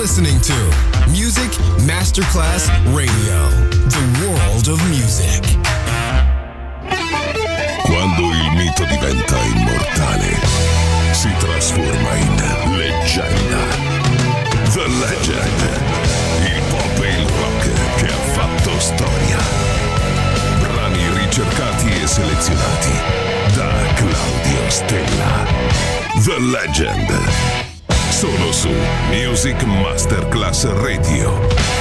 listening to Music Masterclass Radio, the world of music. Quando il mito diventa immortale, si trasforma in leggenda. The Legend, il pop e il rock che ha fatto storia. Brani ricercati e selezionati da Claudio Stella. The Legend, solo su Music Masterclass Radio.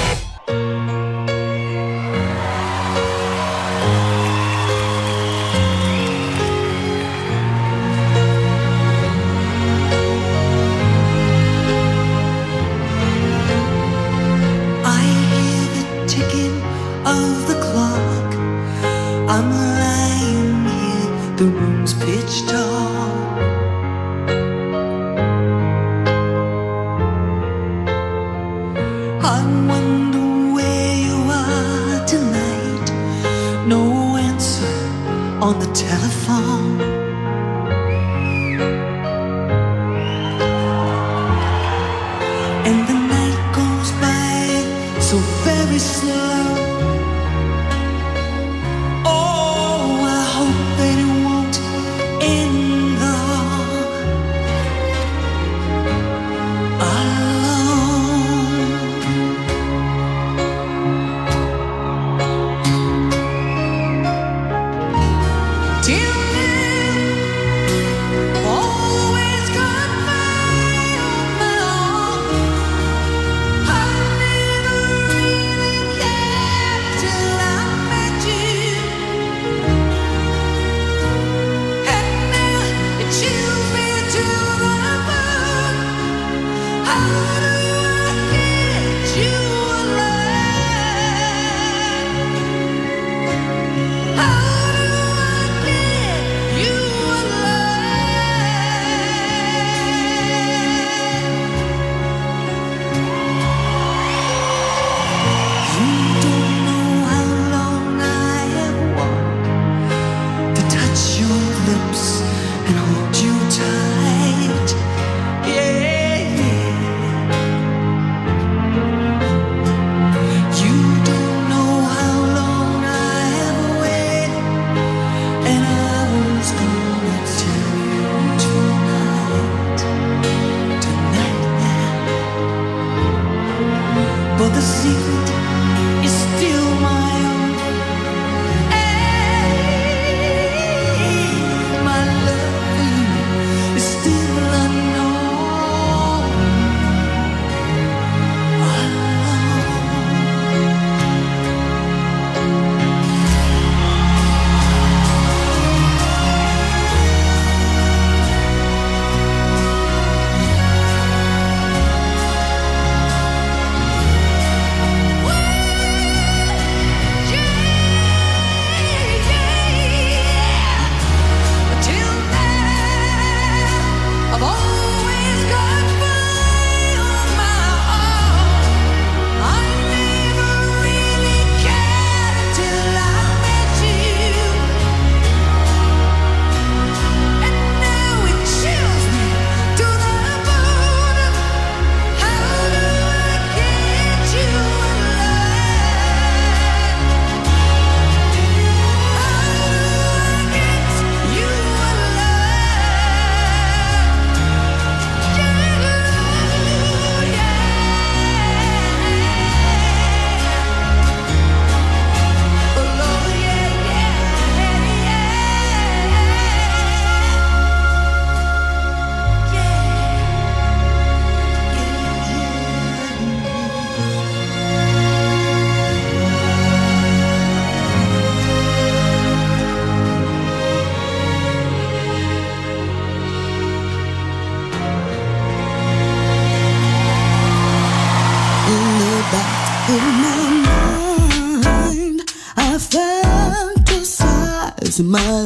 My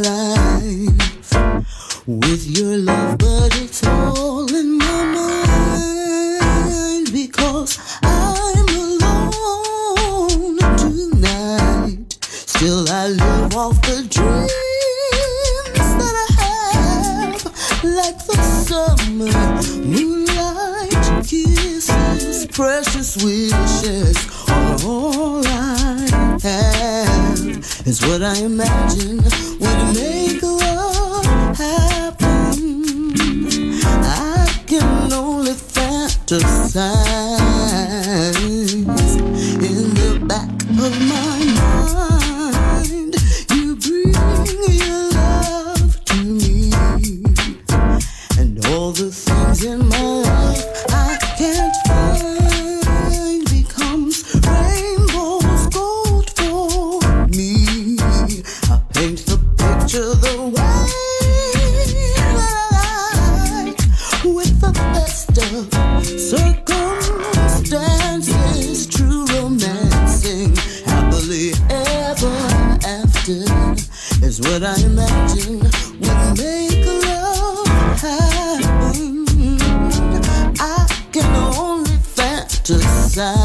life with your love, but it's all in my mind because I'm alone tonight. Still I live off the dreams that I have, like the summer moonlight kiss. kisses, precious wishes are all I have. Is what I imagine would make love happen. I can only fantasize in the back of my mind. You bring your love to me, and all the things in my life I can't find becomes rainbows gold for me. I paint the picture the way I like, with the best of circumstances, true romancing, happily ever after is what I imagine would make love happen. I can only fantasize.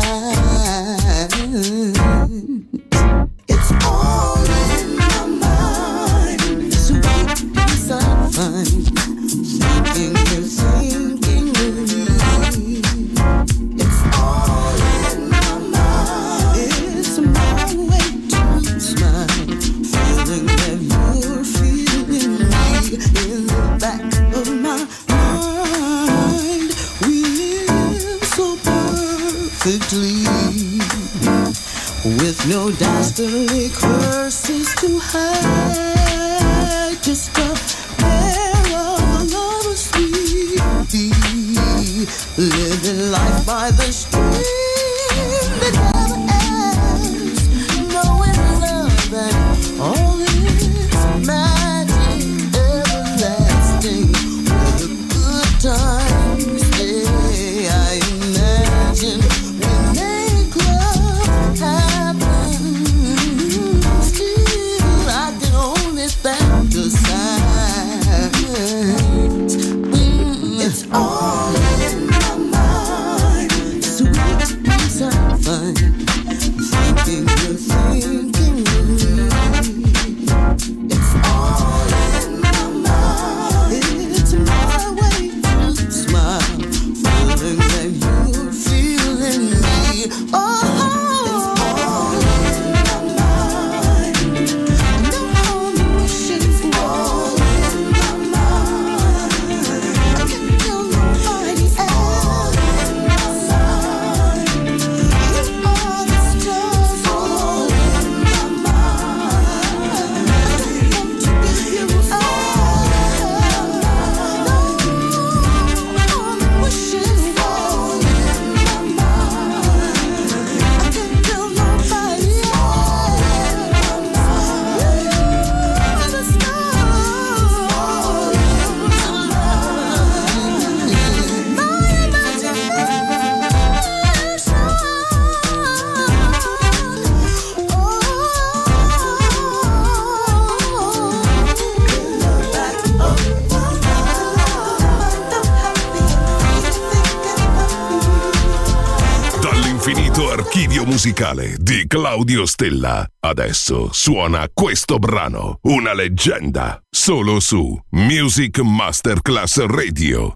It's all in my mind. Sweet peace I find. Thinking you're thinking of me. It's all in my mind. It's my way to smile. Feeling that you're feeling me. In the back of my mind, we live so perfectly, with no dastardly curses to hide. Just a pair of lovers sweet, living life by the stream that never ends, knowing love and all its magic everlasting, where the good times stay. I imagine we make love happen. Still, I can only fantasize. It's all in my mind. Sweet peace I find. Thinking you're thinking of me. It's all in my mind. It's my way to smile, feeling that you're feeling me. Oh, it's all in my mind. No wishes, all in my mind. I can tell nobody else in my mind. You are the stars, all in my mind. I want to give you all the wishes, all in my mind. I can tell nobody else in my mind. You are the stars, all in my mind. My Dall'infinito archivio musicale di Claudio Stella, adesso suona questo brano, una leggenda, solo su Music Masterclass Radio.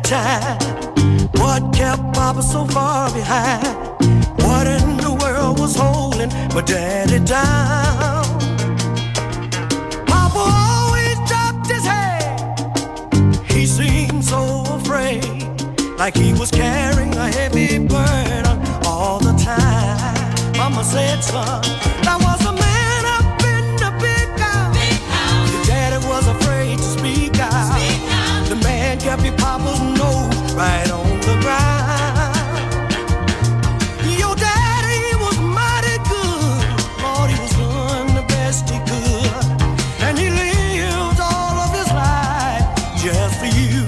time? What kept Papa so far behind? What in the world was holding my daddy down? Papa always dropped his head. He seemed so afraid, like he was carrying a heavy burden all the time. Mama said, son, there was a man up in the big house. Your daddy was afraid to speak out. The man kept your papa's nose right on the ground. Your daddy was mighty good. Lord, he was doing the best he could. And he lived all of his life just for you.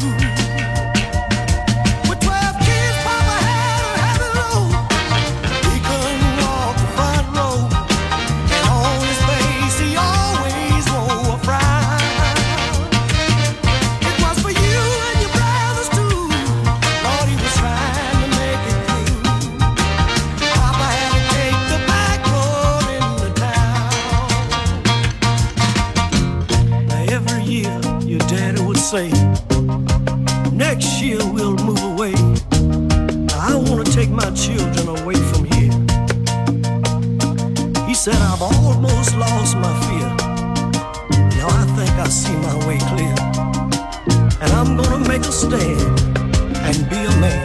With 12 kids, Papa had a heavy load. He couldn't walk the front row. And on his face, he always wore a frown. It was for you and your brothers too. Lord, he was trying to make it through. Papa had to take the back road in the town. Now every year, your daddy would say, next year we'll move away. I want to take my children away from here. He said, I've almost lost my fear. Now I think I see my way clear. And I'm gonna make a stand and be a man.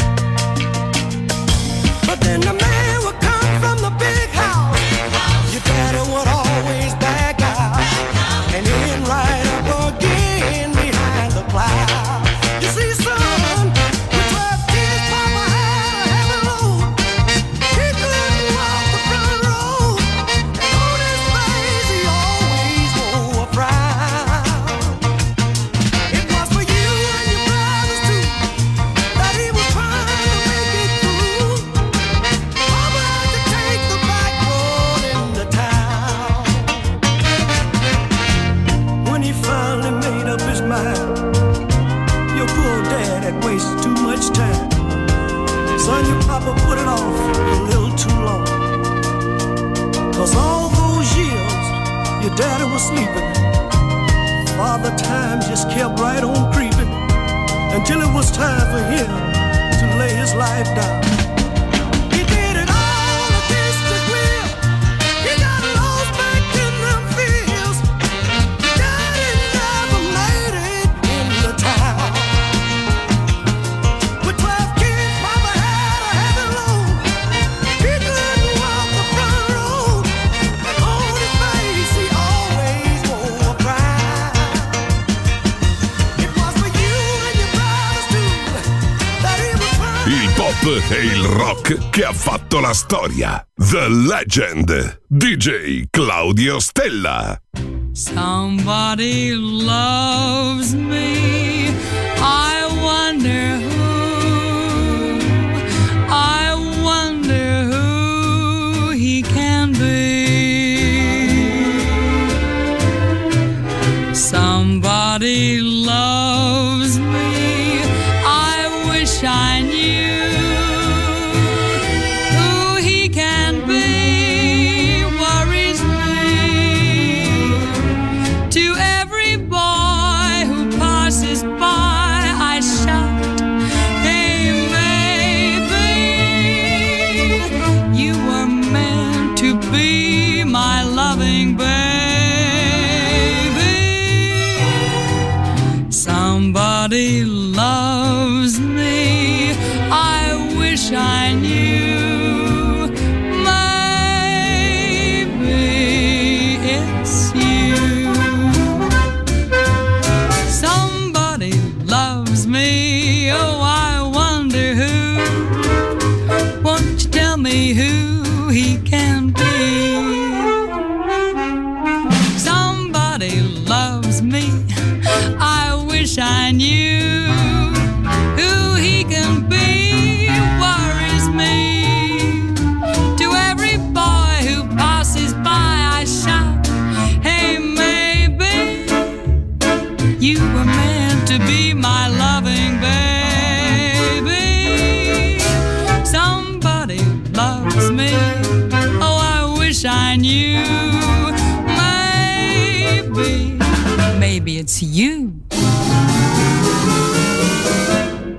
But then the man would come from the big house. Your daddy would always back out. And then right up again behind the plow. You see, son, with 12 kids, Papa had a heavy load. He couldn't walk the front road. And on his face, he always wore a frown. It was for you and your brothers too that he was trying to make it through. Papa had to take the back road in the town. When he finally made up his mind, your poor dad had wasted too much time. Son, your papa put it off a little too long. 'Cause all those years your daddy was sleeping, Father Time just kept right on creeping until it was time for him to lay his life down. He did it all against his will. He got lost back in them fields. Daddy never made it in the town. With 12 kids, Papa had a heavy load. He couldn't walk the front road. And on his face, he always wore a frown. It was for you and your brothers too that he was trying. Il pop e il rock che ha fatto la storia. The Legend. DJ Claudio Stella. Somebody loves me. I wonder who. I wonder who he can be. Somebody loves me. I wish I knew who he can be. Worries me. To every boy who passes by, I shout, hey, baby, you were meant to be my loving baby. Somebody loves me. I wish I knew. Maybe it's you. Somebody loves me. Oh, I wonder who. Won't you tell me who he can be? Somebody loves me. I wish I knew who he can be. Worries me. To every boy who passes by, I shout, hey, maybe you were meant to be my loving baby. Somebody loves me. Oh, I wish I knew. Maybe it's you.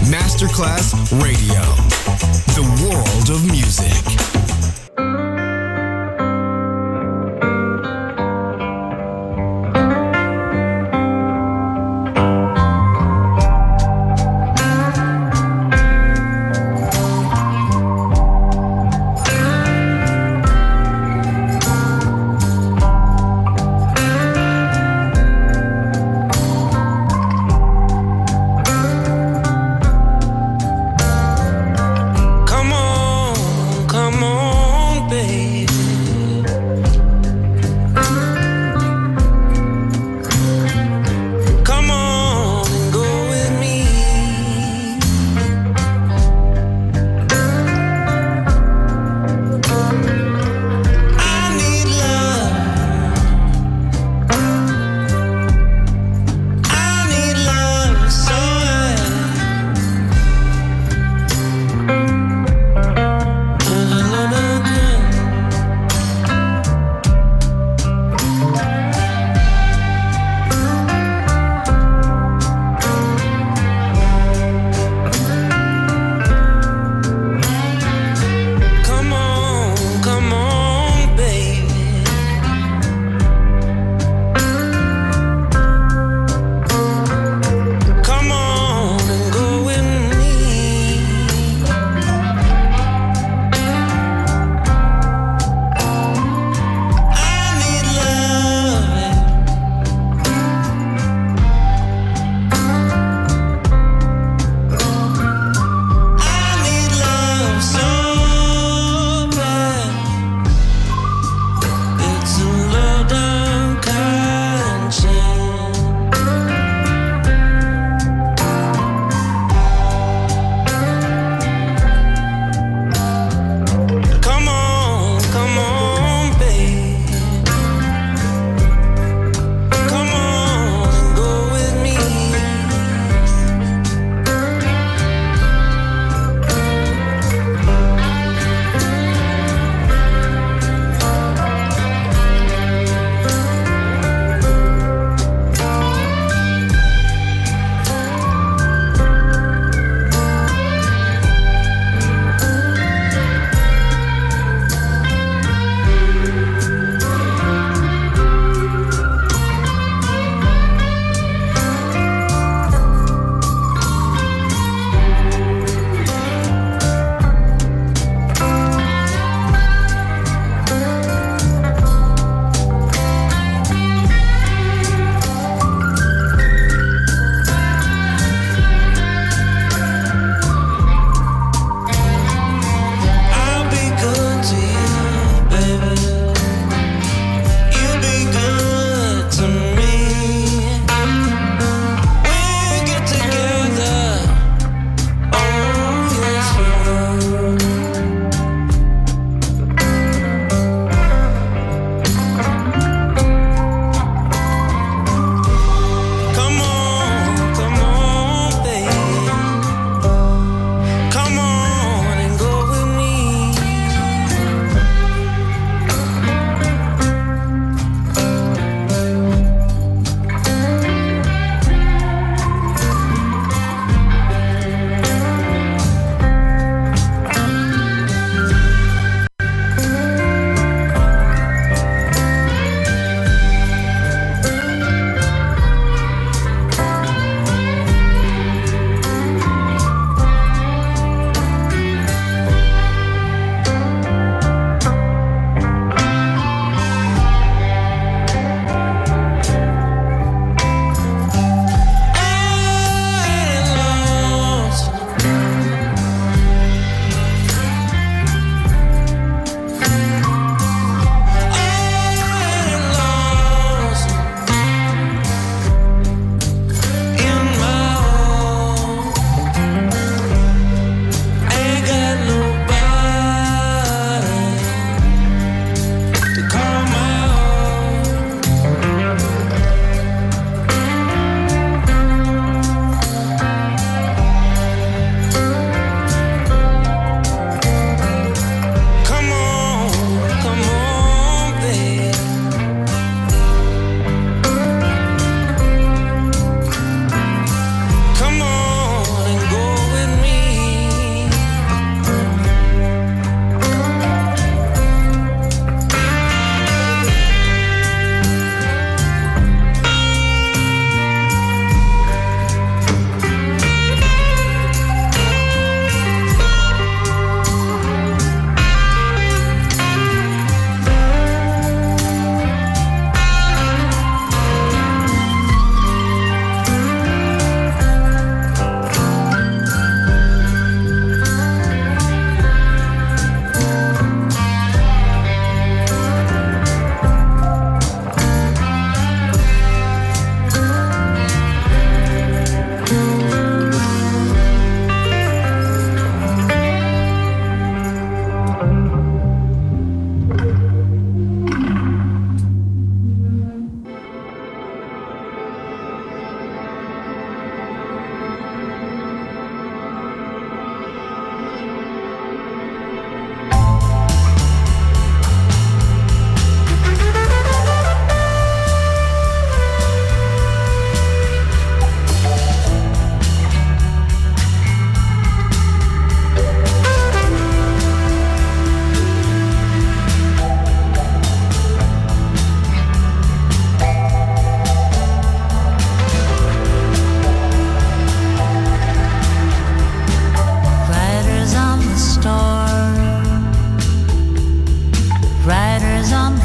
Masterclass Radio. The world of music. Come on,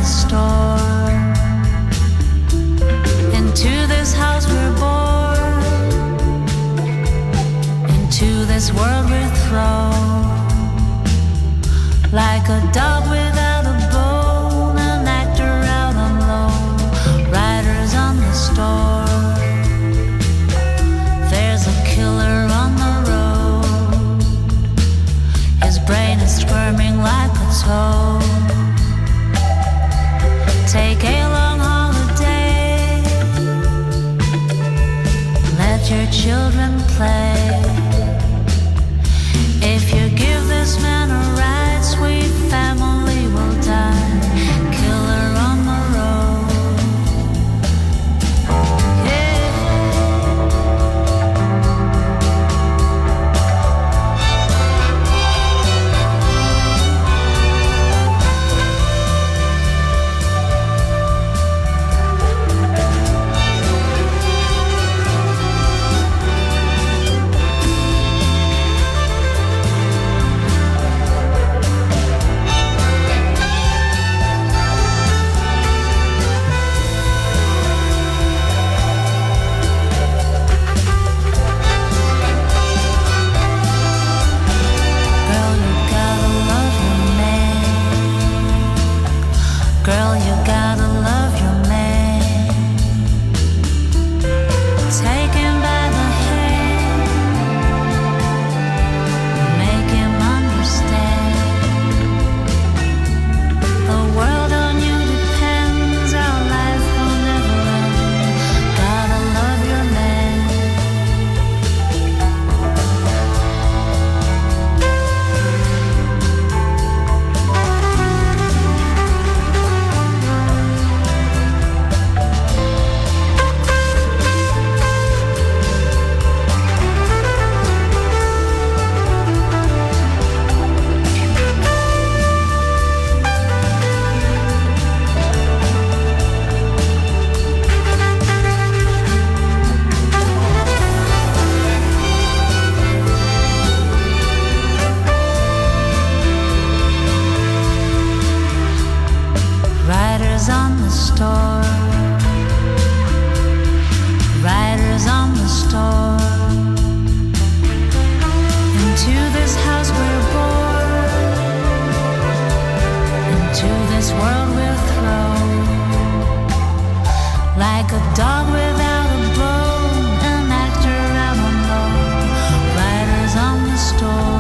the store. Into this house we're born, into this world we're thrown, like a dog without a bone, an actor out on loan, riders on the store. There's a killer on the road, his brain is squirming like a toad. Take a long holiday, let your children play. If you give this man a ride, sweet family will die. Killer on the road. Yeah. Girl, you gotta love your man. Take him by the hand, make him understand. The world on you depends, our life will never end. Gotta love your man. Riders on the store, riders on the store. Into this house we're born, into this world we're thrown, like a dog without a bone, an actor out on loan. Riders on the store.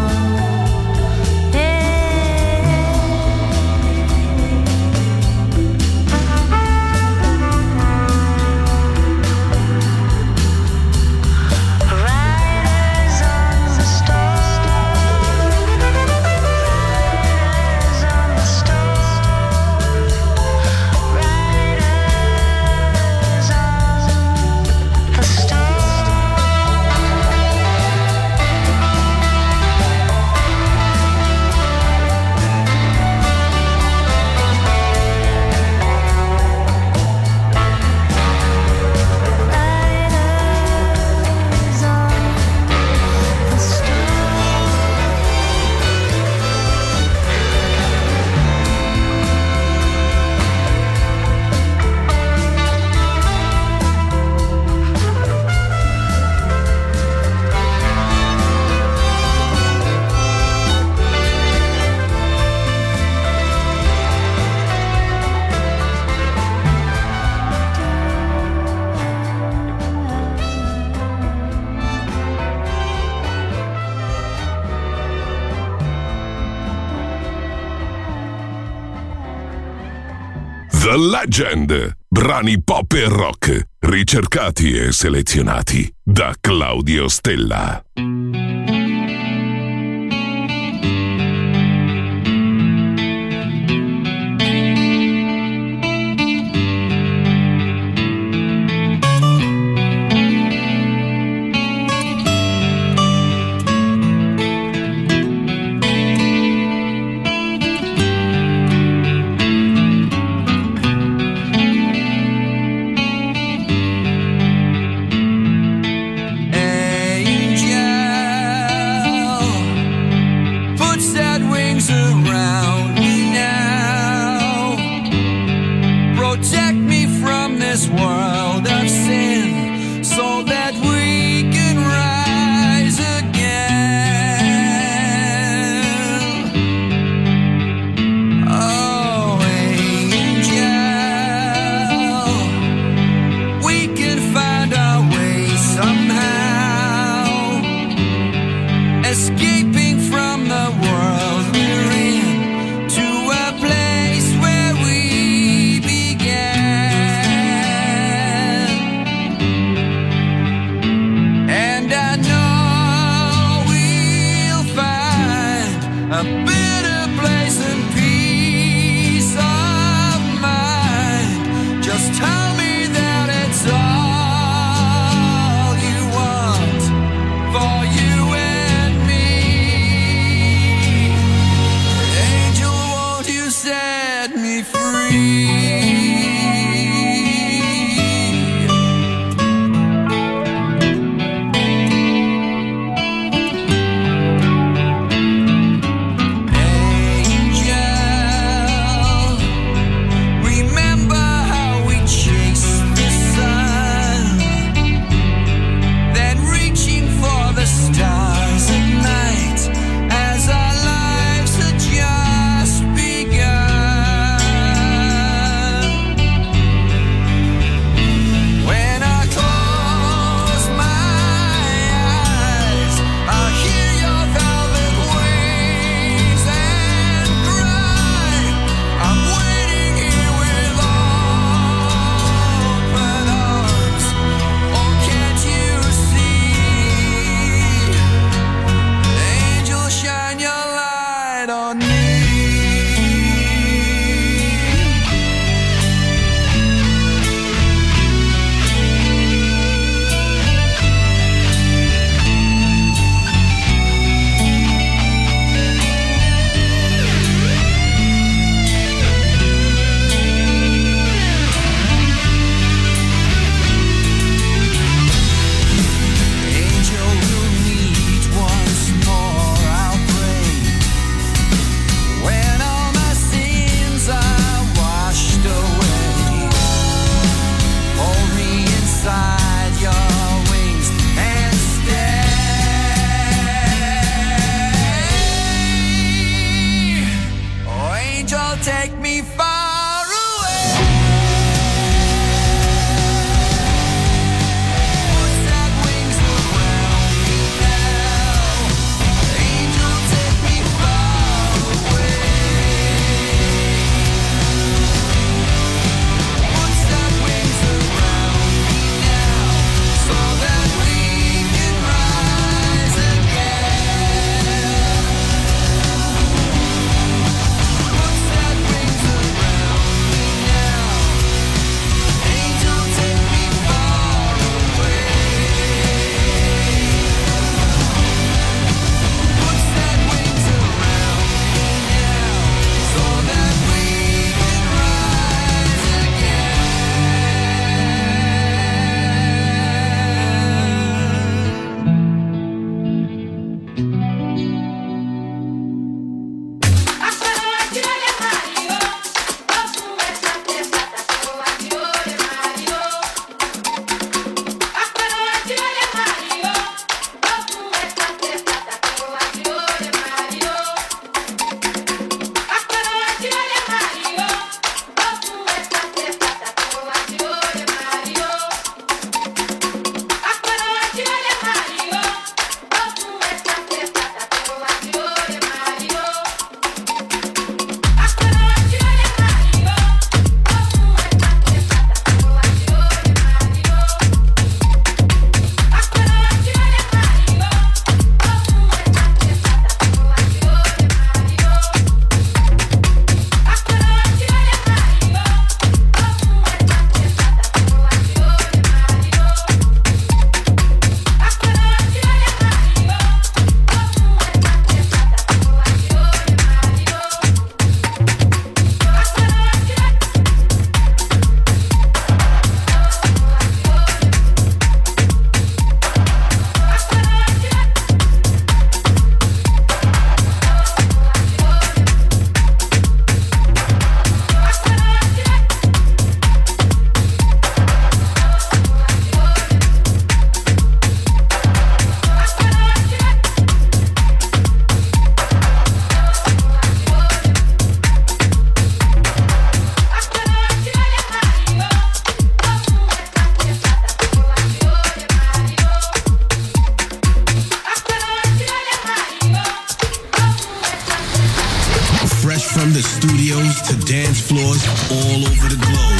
The Legend, brani pop e rock, ricercati e selezionati da Claudio Stella. Angel this world of sin so that we can rise again. Oh, angel, we can find our way somehow, escaping from the world we're in to a place where we began. And I know we'll find a better place and peace of mind. Just tell me that it's all you want for you and me. Angel, won't you set me free? Angel, remember how we chased the sun, then reaching for the stars at night as our lives had just begun. dance floors all over the globe.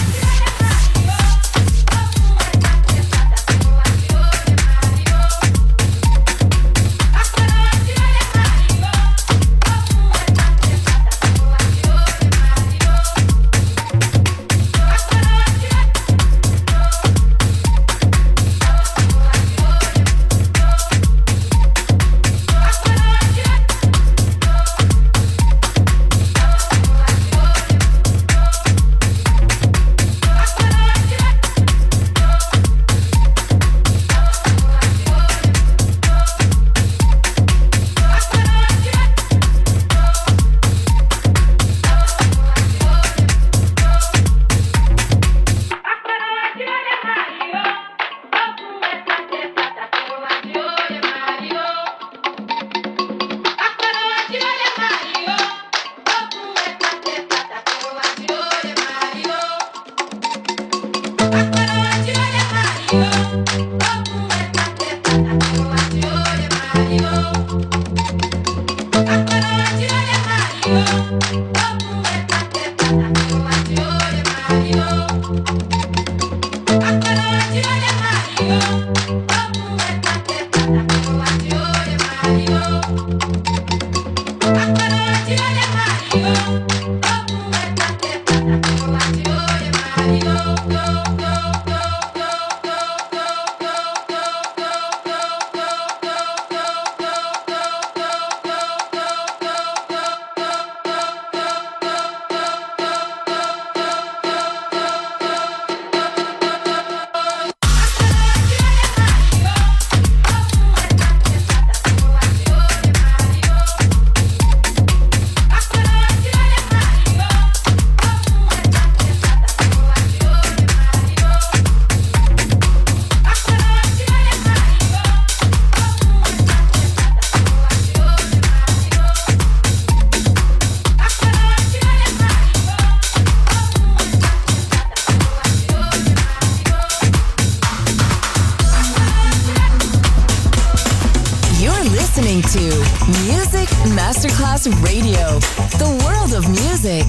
Music Masterclass Radio, the world of music.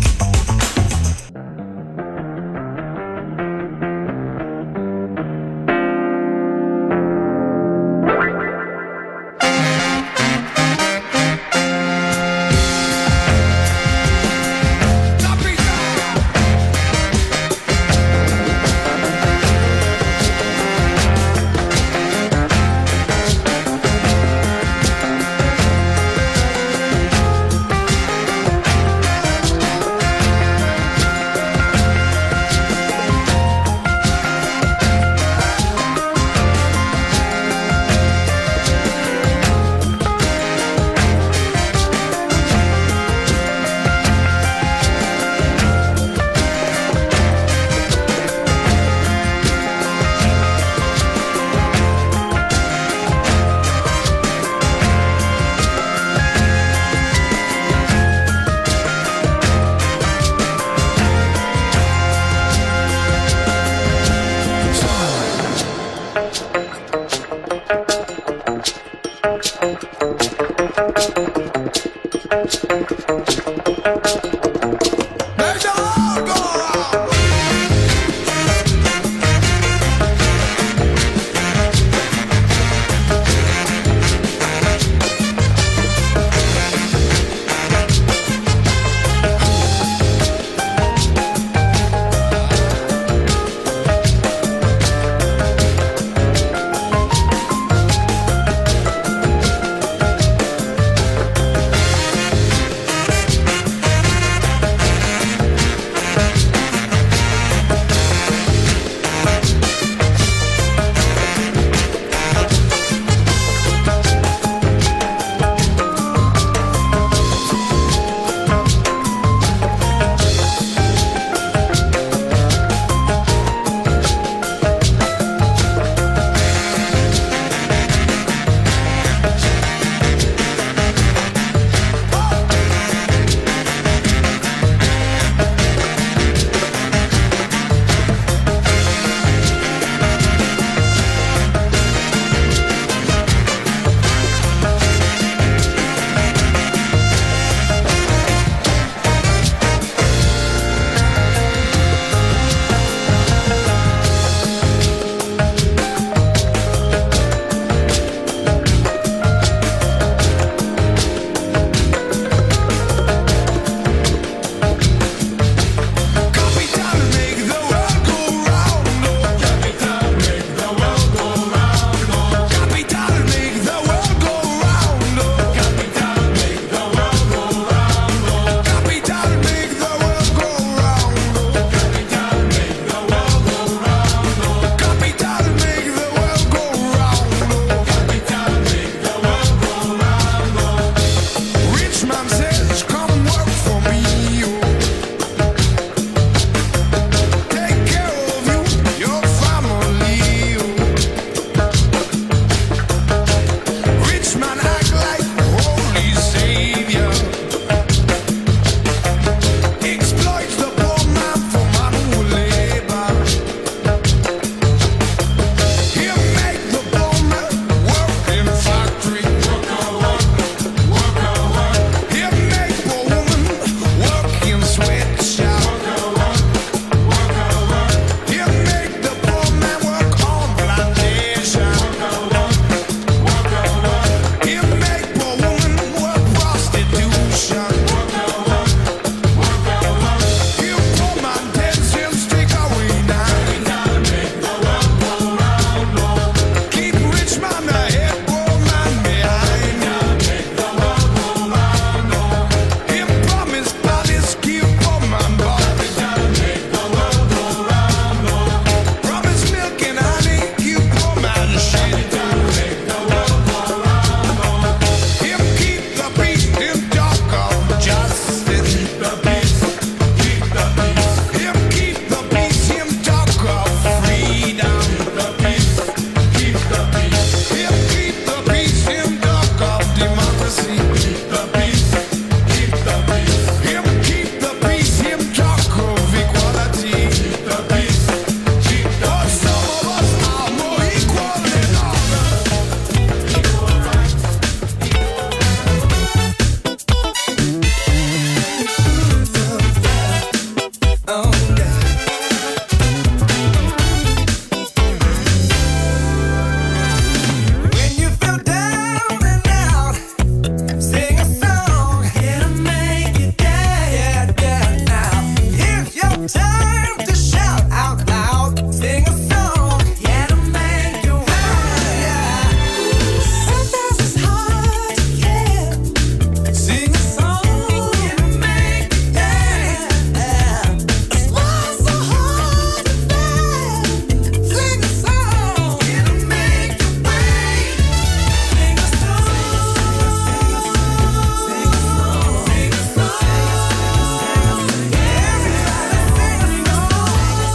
Time to shout out loud, sing a song, yeah, to make you happy. Sometimes it's hard to care. Sing a song, yeah, to make you dance. Why so hard to bear? Sing a song, yeah, to make you wait. Sing a song, sing a song, sing a song, sing a song. Everybody sing a song.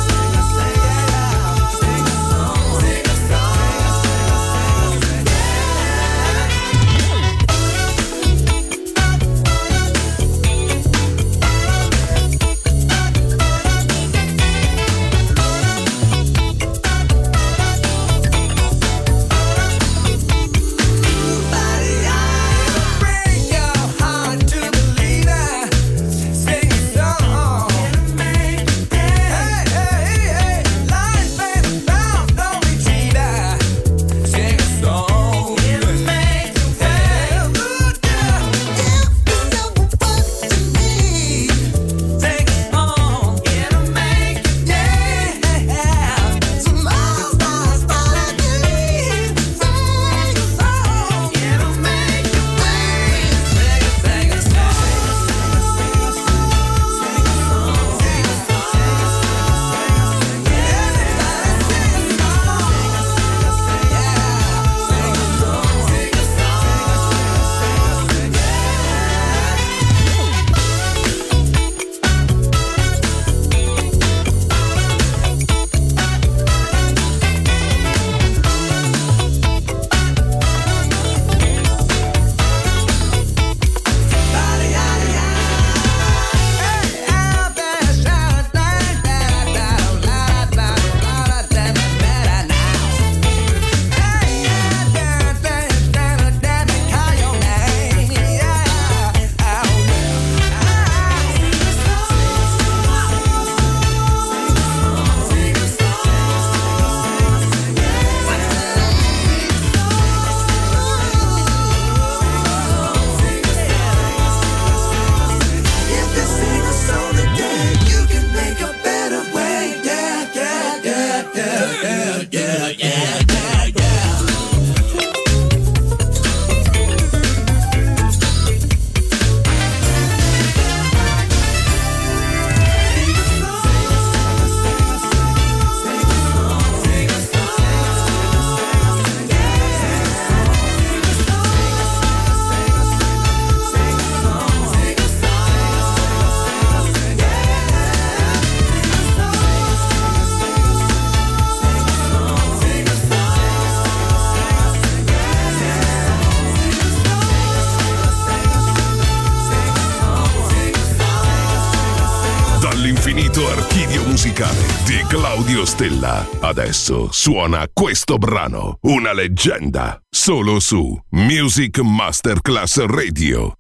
Dall'infinito archivio musicale di Claudio Stella. Adesso suona questo brano, una leggenda, solo su Music Masterclass Radio.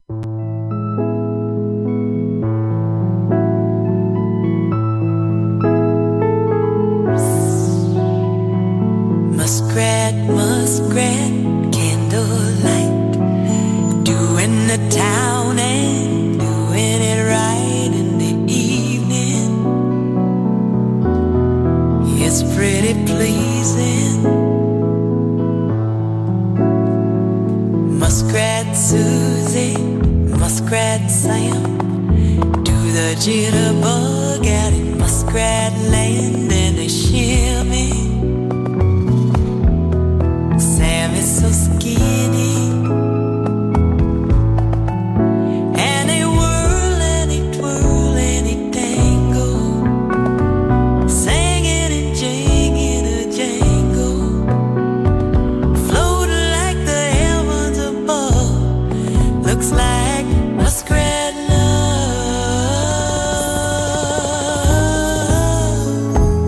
Muskrat, muskrat, candlelight, doing the town and doing it right in the evening. It's pretty pleasing. Muskrat Susie, Muskrat Sam, do the jitterbug out in Muskrat Land and they shimmy. Sam is so skinny, and they whirl and they twirl and they tangle, singing and jinging a jangle, floating like the heavens above. Looks like muskrat love.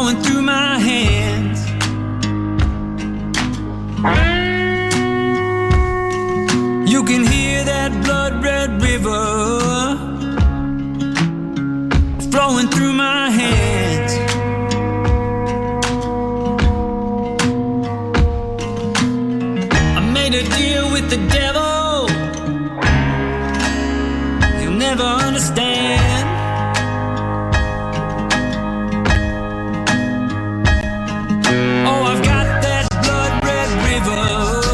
flowing through my hands. You can hear that blood red river flowing through my hands. I made a deal with the devil, he'll never understand. Oh, I've got that blood red river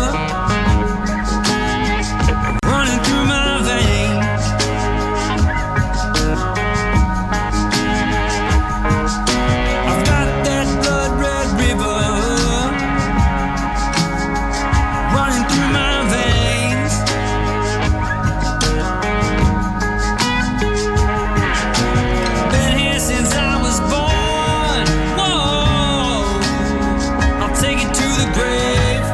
running through my veins. I've got that blood red river running through my veins. Been here since I was born. Whoa, I'll take it to the grave.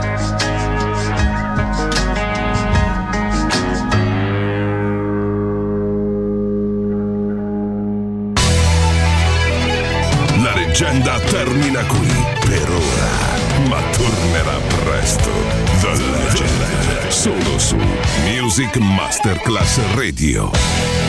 La leggenda termina qui per ora, ma tornerà presto. The Legend, solo su Music Masterclass Radio.